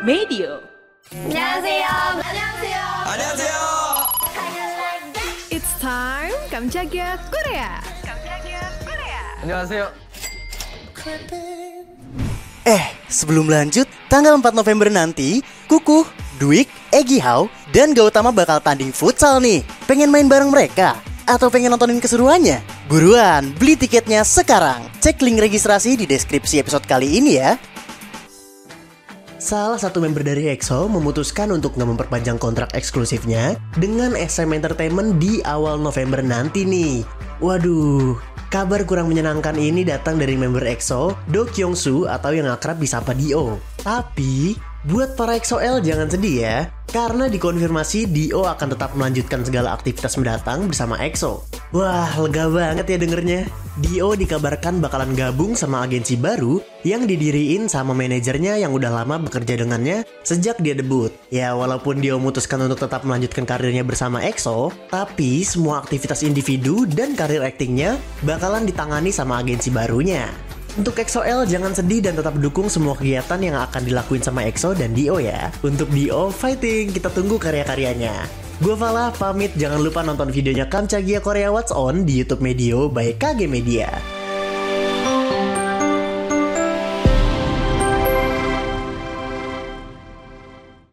Medio. 안녕하세요. 안녕하세요. 안녕하세요. It's time Kamchagia Korea. 안녕하세요. Sebelum lanjut, tanggal 4 November nanti, Kukuh, Dwik, Egi Hao, dan Gautama bakal tanding futsal nih. Pengen main bareng mereka? Atau pengen nontonin keseruannya? Buruan, beli tiketnya sekarang. Cek link registrasi di deskripsi episode kali ini ya. Salah satu member dari EXO memutuskan untuk nggak memperpanjang kontrak eksklusifnya dengan SM Entertainment di awal November nanti nih. Waduh, kabar kurang menyenangkan ini datang dari member EXO, Do Kyung Soo atau yang akrab disapa Dio. Tapi, buat para EXO-L jangan sedih ya, karena dikonfirmasi Dio akan tetap melanjutkan segala aktivitas mendatang bersama EXO. Wah, lega banget ya dengernya. Dio dikabarkan bakalan gabung sama agensi baru yang didiriin sama manajernya yang udah lama bekerja dengannya sejak dia debut. Ya, walaupun Dio memutuskan untuk tetap melanjutkan karirnya bersama EXO, tapi semua aktivitas individu dan karir aktingnya bakalan ditangani sama agensi barunya. Untuk EXO-L jangan sedih dan tetap dukung semua kegiatan yang akan dilakuin sama EXO dan Dio ya. Untuk Dio, fighting, kita tunggu karya-karyanya. Gue Fala, pamit, jangan lupa nonton videonya Kamchagia Korea What's On di YouTube Medio by KG Media.